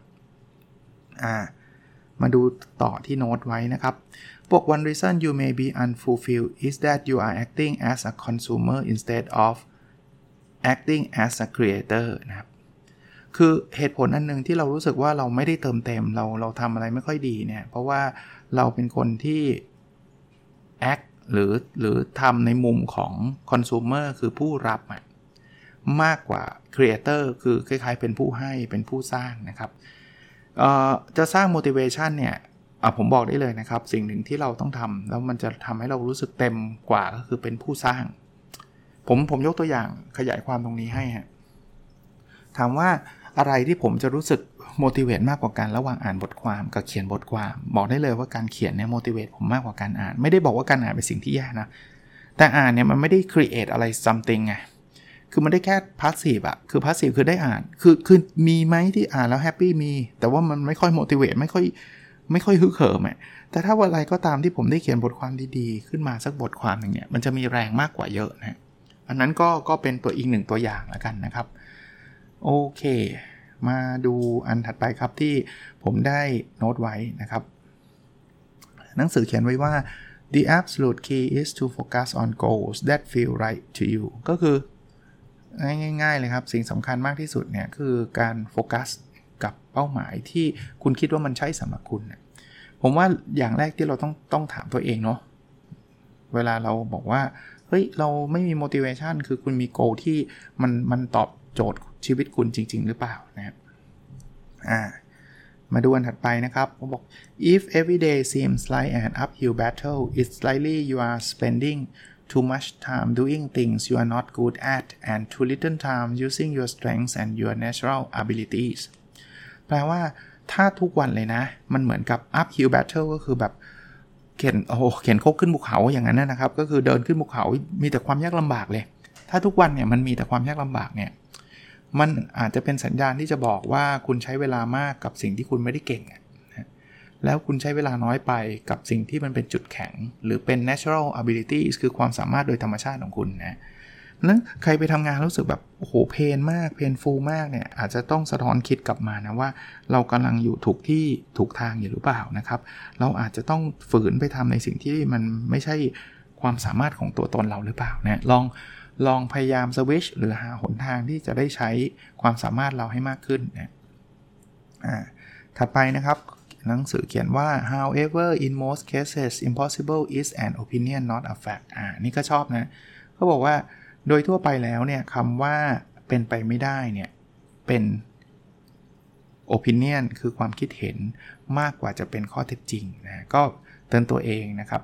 Speaker 2: มาดูต่อที่โน้ตไว้นะครับพวก one reason you may be unfulfilled is that you are acting as a consumer instead of acting as a creator นะครับคือเหตุผลอันนึงที่เรารู้สึกว่าเราไม่ได้เติมเต็มเราทำอะไรไม่ค่อยดีเนี่ยเพราะว่าเราเป็นคนที่ act หรือทำในมุมของ consumer คือผู้รับมากกว่า creator คือคล้ายๆเป็นผู้ให้เป็นผู้สร้างนะครับจะสร้าง motivation เนี่ยผมบอกได้เลยนะครับสิ่งหนึ่งที่เราต้องทำแล้วมันจะทำให้เรารู้สึกเต็มกว่าก็คือเป็นผู้สร้างผมยกตัวอย่างขยายความตรงนี้ให้ถามว่าอะไรที่ผมจะรู้สึก motivate มากกว่ากันระหว่างอ่านบทความกับเขียนบทความบอกได้เลยว่าการเขียนเนี่ย motivate ผมมากกว่าการอ่านไม่ได้บอกว่าการอ่านเป็นสิ่งที่แย่นะแต่อ่านเนี่ยมันไม่ได้ create อะไร something ไงคือมันได้แค่ passive คือ passive คือได้อ่านคือมีไหมที่อ่านแล้ว happy มีแต่ว่ามันไม่ค่อย motivate ไม่ค่อยฮึกเหิมแต่ถ้าวันอะไรก็ตามที่ผมได้เขียนบทความดีๆขึ้นมาสักบทความนึงเนี่ยมันจะมีแรงมากกว่าเยอะนะอันนั้นก็เป็นตัวอีกหนึ่งตัวอย่างแล้วกันนะครับโอเคมาดูอันถัดไปครับที่ผมได้โน้ตไว้นะครับหนังสือเขียนไว้ว่า The absolute key is to focus on goals that feel right to you ก็คือง่ายๆเลยครับสิ่งสำคัญมากที่สุดเนี่ยคือการโฟกัสกับเป้าหมายที่คุณคิดว่ามันใช่สำหรับคุณนะผมว่าอย่างแรกที่เราต้องถามตัวเองเนาะเวลาเราบอกว่าเฮ้ยเราไม่มี motivation คือคุณมี goal ที่มันตอบโจทย์ชีวิตคุณจริงๆหรือเปล่านะครับมาดูอันถัดไปนะครับผมบอก if every day seems like an uphill battle it's likely you are spending too much time doing things you are not good at and too little time using your strengths and your natural abilities แปลว่าถ้าทุกวันเลยนะมันเหมือนกับ uphill battle ก็คือแบบเข็นโคกขึ้นภูเขาอย่างนั้นนะครับก็คือเดินขึ้นภูเขามีแต่ความยากลำบากเลยถ้าทุกวันเนี่ยมันมีแต่ความยากลำบากเนี่ยมันอาจจะเป็นสัญญาณที่จะบอกว่าคุณใช้เวลามากกับสิ่งที่คุณไม่ได้เก่งแล้วคุณใช้เวลาน้อยไปกับสิ่งที่มันเป็นจุดแข็งหรือเป็น natural abilities คือความสามารถโดยธรรมชาติของคุณนะนั้นใครไปทำงานรู้สึกแบบโอ้โหเพนมากเพนฟูลมากเนี่ยอาจจะต้องสะท้อนคิดกลับมานะว่าเรากำลังอยู่ถูกที่ถูกทางอยู่หรือเปล่านะครับเราอาจจะต้องฝืนไปทำในสิ่งที่มันไม่ใช่ความสามารถของตัวตนเราหรือเปล่านะลองพยายามสวิตช์หรือหาหนทางที่จะได้ใช้ความสามารถเราให้มากขึ้นนะถัดไปนะครับหนังสือเขียนว่า however in most cases impossible is an opinion not a fact นี่ก็ชอบนะเขาบอกว่าโดยทั่วไปแล้วเนี่ยคำว่าเป็นไปไม่ได้เนี่ยเป็น opinion คือความคิดเห็นมากกว่าจะเป็นข้อเท็จจริงนะก็เตือนตัวเองนะครับ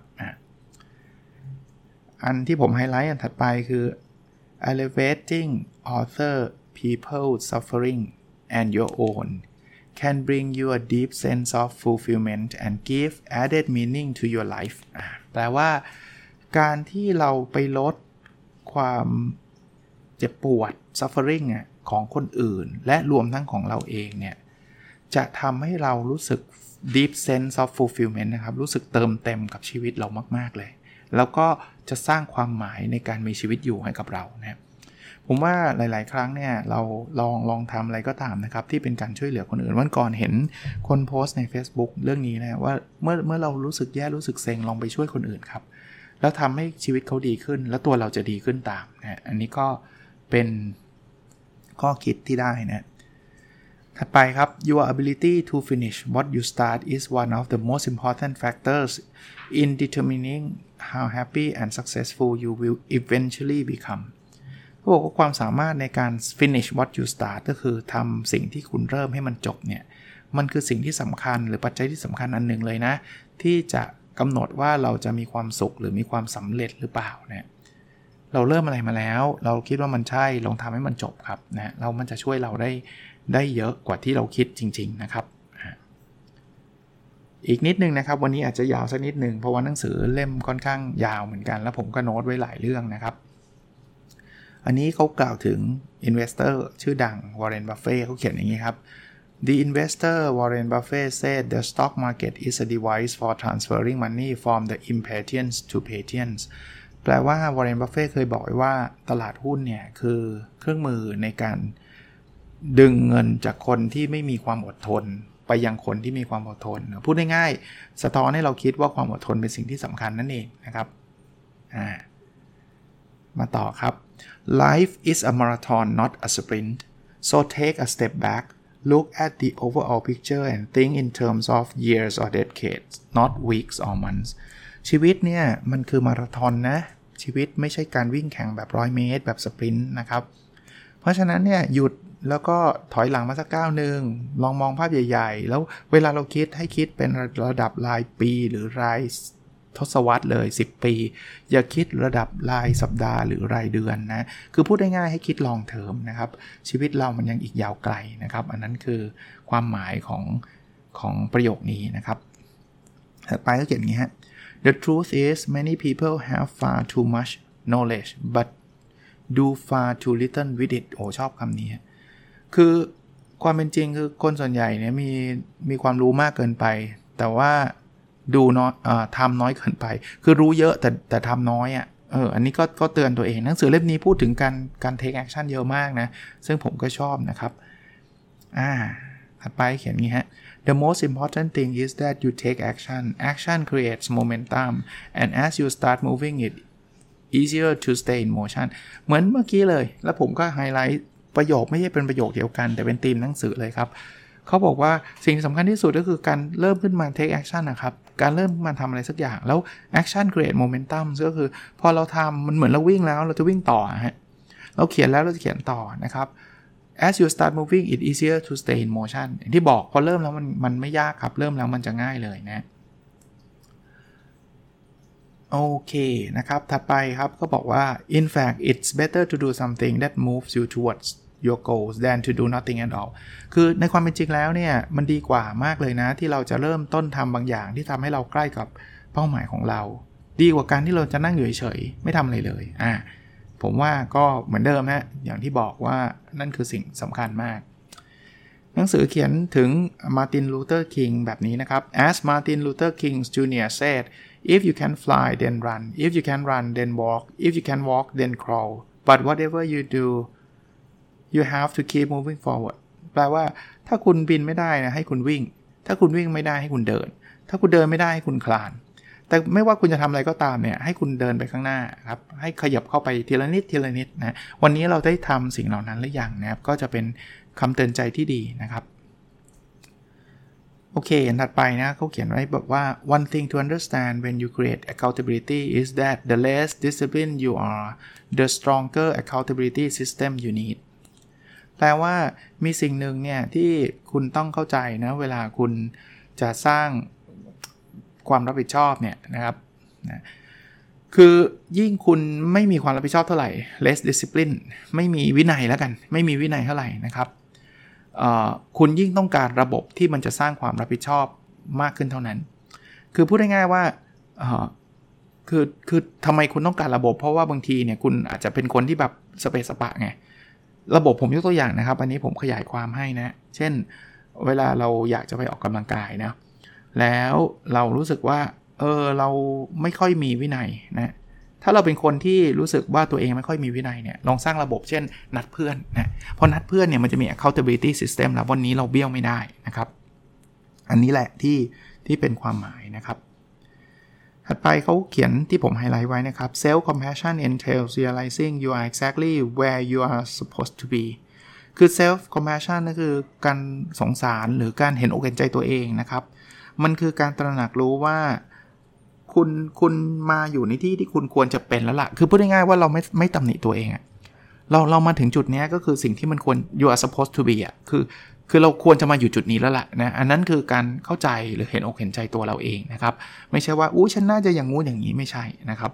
Speaker 2: อันที่ผมไฮไลท์อันถัดไปคือ elevating other people's suffering and your own can bring you a deep sense of fulfillment and give added meaning to your life แปลว่าการที่เราไปลดความเจ็บปวด suffering ของคนอื่นและรวมทั้งของเราเองเนี่ยจะทำให้เรารู้สึก deep sense of fulfillment นะครับรู้สึกเติมเต็มกับชีวิตเรามากๆเลยแล้วก็จะสร้างความหมายในการมีชีวิตอยู่ให้กับเรานะครับผมว่าหลายๆครั้งเนี่ยเราลองทำอะไรก็ตามนะครับที่เป็นการช่วยเหลือคนอื่นวันก่อนเห็นคนโพสต์ใน Facebook เรื่องนี้นะว่าเมื่อเรารู้สึกแย่รู้สึกเซ็งลองไปช่วยคนอื่นครับแล้วทำให้ชีวิตเขาดีขึ้นแล้วตัวเราจะดีขึ้นตามนะอันนี้ก็เป็นข้อคิดที่ได้นะถัดไปครับ Your ability to finish what you start is one of the most important factors in determining how happy and successful you will eventually become เขาบอกว่าความสามารถในการ finish what you start ก็คือทำสิ่งที่คุณเริ่มให้มันจบเนี่ยมันคือสิ่งที่สำคัญหรือปัจจัยที่สำคัญอันหนึ่งเลยนะที่จะกำหนดว่าเราจะมีความสุขหรือมีความสำเร็จหรือเปล่าเนี่ยเราเริ่มอะไรมาแล้วเราคิดว่ามันใช่ลองทำให้มันจบครับนะแล้วมันจะช่วยเราได้เยอะกว่าที่เราคิดจริงๆนะครับอีกนิดนึงนะครับวันนี้อาจจะยาวสักนิดนึงเพราะว่าหนังสือเล่มค่อนข้างยาวเหมือนกันแล้วผมก็โน้ตไว้หลายเรื่องนะครับอันนี้เขากล่าวถึง investor ชื่อดัง Warren Buffett เขาเขียนอย่างนี้ครับ The investor Warren Buffett said the stock market is a device for transferring money from the impatience to patience แปลว่า Warren Buffett เคยบอกไว้ว่าตลาดหุ้นเนี่ยคือเครื่องมือในการดึงเงินจากคนที่ไม่มีความอดทนไปยังคนที่มีความอดทนพูดง่ายๆสะท้อนให้เราคิดว่าความอดทนเป็นสิ่งที่สำคัญนั่นเองนะครับมาต่อครับ Life is a marathon not a sprint so take a step back look at the overall picture and think in terms of years or decades not weeks or months ชีวิตเนี่ยมันคือมาราธอนนะชีวิตไม่ใช่การวิ่งแข่งแบบ100 เมตรแบบสปรินต์นะครับเพราะฉะนั้นเนี่ยหยุดแล้วก็ถอยหลังมาสักก้าวนึงลองมองภาพใหญ่ๆแล้วเวลาเราคิดให้คิดเป็นระดับรายปีหรือรายทศวรรษเลย10 ปีอย่าคิดระดับรายสัปดาห์หรือรายเดือนนะคือพูดง่ายๆให้คิดลองเทอมนะครับชีวิตเรามันยังอีกยาวไกลนะครับอันนั้นคือความหมายของประโยคนี้นะครับถัดไปก็เขียนอย่างนี้ฮะ The truth is many people have far too much knowledge but do far too little with it โอ้ชอบคำนี้คือความเป็นจริงคือคนส่วนใหญ่เนี่ยมีความรู้มากเกินไปแต่ว่าดูน้อยทำน้อยเกินไปคือรู้เยอะแต่ทำน้อยอันนี้ก็เตือนตัวเองหนังสือเล่มนี้พูดถึงการ take action เยอะมากนะซึ่งผมก็ชอบนะครับถัดไปเขียนงี้ฮะ The most important thing is that you take action. Action creates momentum, and as you start moving it easier to stay in motion. เหมือนเมื่อกี้เลยแล้วผมก็ไฮไลท์ประโยคไม่ใช่เป็นประโยคเดียวกันแต่เป็นธีมหนังสือเลยครับเขาบอกว่าสิ่งสำคัญที่สุดก็คือการเริ่มขึ้นมา take action นะครับการเริ่มมาทำอะไรสักอย่างแล้ว action create momentum ก็คือพอเราทำมันเหมือนเราวิ่งแล้วเราจะวิ่งต่อฮะเราเขียนแล้วเราจะเขียนต่อนะครับ as you start moving it easier to stay in motion อย่างที่บอกพอเริ่มแล้วมันไม่ยากครับเริ่มแล้วมันจะง่ายเลยนะโอเคนะครับถัดไปครับก็บอกว่า in fact it's better to do something that moves you towards your goals than to do nothing at all คือในความเป็นจริงแล้วเนี่ยมันดีกว่ามากเลยนะที่เราจะเริ่มต้นทำบางอย่างที่ทำให้เราใกล้กับเป้าหมายของเราดีกว่าการที่เราจะนั่งอยู่เฉยๆไม่ทำอะไรเลยผมว่าก็เหมือนเดิมนะอย่างที่บอกว่านั่นคือสิ่งสำคัญมากหนังสือเขียนถึงมาร์ตินลูเทอร์คิงแบบนี้นะครับ As Martin Luther King Jr. said if you can fly then run if you can run then walk if you can walk then crawl but whatever you do you have to keep moving forward แปลว่าถ้าคุณบินไม่ได้นะให้คุณวิ่งถ้าคุณวิ่งไม่ได้ให้คุณเดินถ้าคุณเดินไม่ได้ให้คุณคลานแต่ไม่ว่าคุณจะทำอะไรก็ตามเนี่ยให้คุณเดินไปข้างหน้าครับให้ขยับเข้าไปทีละนิดทีละนิดนะวันนี้เราได้ทำสิ่งเหล่านั้นหรือยังนะครับก็จะเป็นคำเตือนใจที่ดีนะครับโอเคถัดไปนะเขาเขียนไว้แบบว่า one thing to understand when you create accountability is that the less disciplined you are the stronger accountability system you need แปลว่ามีสิ่งหนึ่งเนี่ยที่คุณต้องเข้าใจนะเวลาคุณจะสร้างความรับผิดชอบเนี่ยนะครับนะคือยิ่งคุณไม่มีความรับผิดชอบเท่าไหร่ less discipline ไม่มีวินัยแล้วกันไม่มีวินัยเท่าไหร่นะครับคุณยิ่งต้องการระบบที่มันจะสร้างความรับผิดชอบมากขึ้นเท่านั้นคือพูดง่ายๆว่าคือทำไมคุณต้องการระบบเพราะว่าบางทีเนี่ยคุณอาจจะเป็นคนที่แบบสเปซสปะไงระบบผมยกตัวอย่างนะครับอันนี้ผมขยายความให้นะเช่นเวลาเราอยากจะไปออกกำลังกายนะแล้วเรารู้สึกว่าเราไม่ค่อยมีวินัยนะถ้าเราเป็นคนที่รู้สึกว่าตัวเองไม่ค่อยมีวินัยเนี่ยลองสร้างระบบเช่นนัดเพื่อนนะพอนัดเพื่อนเนี่ยมันจะมี accountability system แล้ววันนี้เราเบี้ยวไม่ได้นะครับอันนี้แหละที่เป็นความหมายนะครับถัดไปเขาเขียนที่ผมไฮไลท์ไว้นะครับ self compassion entails realizing you are exactly where you are supposed to be คือ self compassion นั่นคือการสงสารหรือการเห็นอกเห็นใจตัวเองนะครับมันคือการตระหนักรู้ว่าคุณมาอยู่ในที่ที่คุณควรจะเป็นแล้วล่ะคือพูดง่ายๆว่าเราไม่ตำหนิตัวเองอะเรามาถึงจุดนี้ก็คือสิ่งที่มันควร you are supposed to be อะคือเราควรจะมาอยู่จุดนี้แล้วล่ะนะอันนั้นคือการเข้าใจหรือเห็นอกเห็นใจตัวเราเองนะครับไม่ใช่ว่าฉันน่าจะอย่างงู้นอย่างนี้ไม่ใช่นะครับ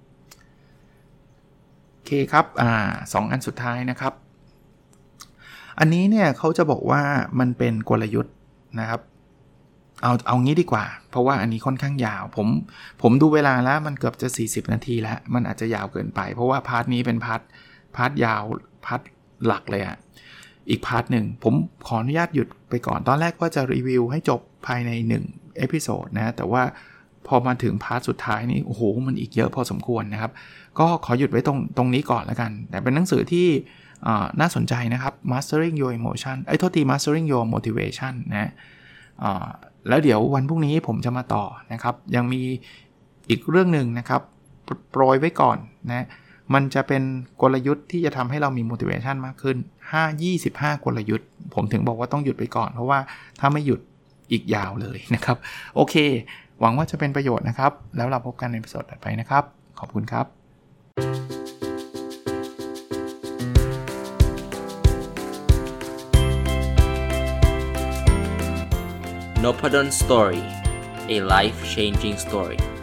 Speaker 2: โอเคครับ2 อันสุดท้ายนะครับอันนี้เนี่ยเขาจะบอกว่ามันเป็นกลยุทธ์นะครับเอางี้ดีกว่าเพราะว่าอันนี้ค่อนข้างยาวผมดูเวลาแล้วมันเกือบจะ40นาทีแล้วมันอาจจะยาวเกินไปเพราะว่าพาร์ทนี้เป็นพาร์ทยาวพาร์ทหลักเลยอ่ะอีกพาร์ทหนึ่งผมขออนุญาตหยุดไปก่อนตอนแรกว่าจะรีวิวให้จบภายใน1เอพิโซดนะแต่ว่าพอมาถึงพาร์ทสุดท้ายนี้โอ้โหมันอีกเยอะพอสมควรนะครับก็ขอหยุดไว้ตรงนี้ก่อนแล้วกันแต่เป็นหนังสือที่น่าสนใจนะครับ Mastering Your Emotion Mastering Your Motivation นะแล้วเดี๋ยววันพรุ่งนี้ผมจะมาต่อนะครับยังมีอีกเรื่องหนึ่งนะครับโปรยไว้ก่อนนะมันจะเป็นกลยุทธ์ที่จะทำให้เรามี motivation มากขึ้น25กลยุทธ์ผมถึงบอกว่าต้องหยุดไปก่อนเพราะว่าถ้าไม่หยุดอีกยาวเลยนะครับโอเคหวังว่าจะเป็นประโยชน์นะครับแล้วเราพบกันในตอนต่อไปนะครับขอบคุณครับ
Speaker 3: Nopadon Story, a life-changing story.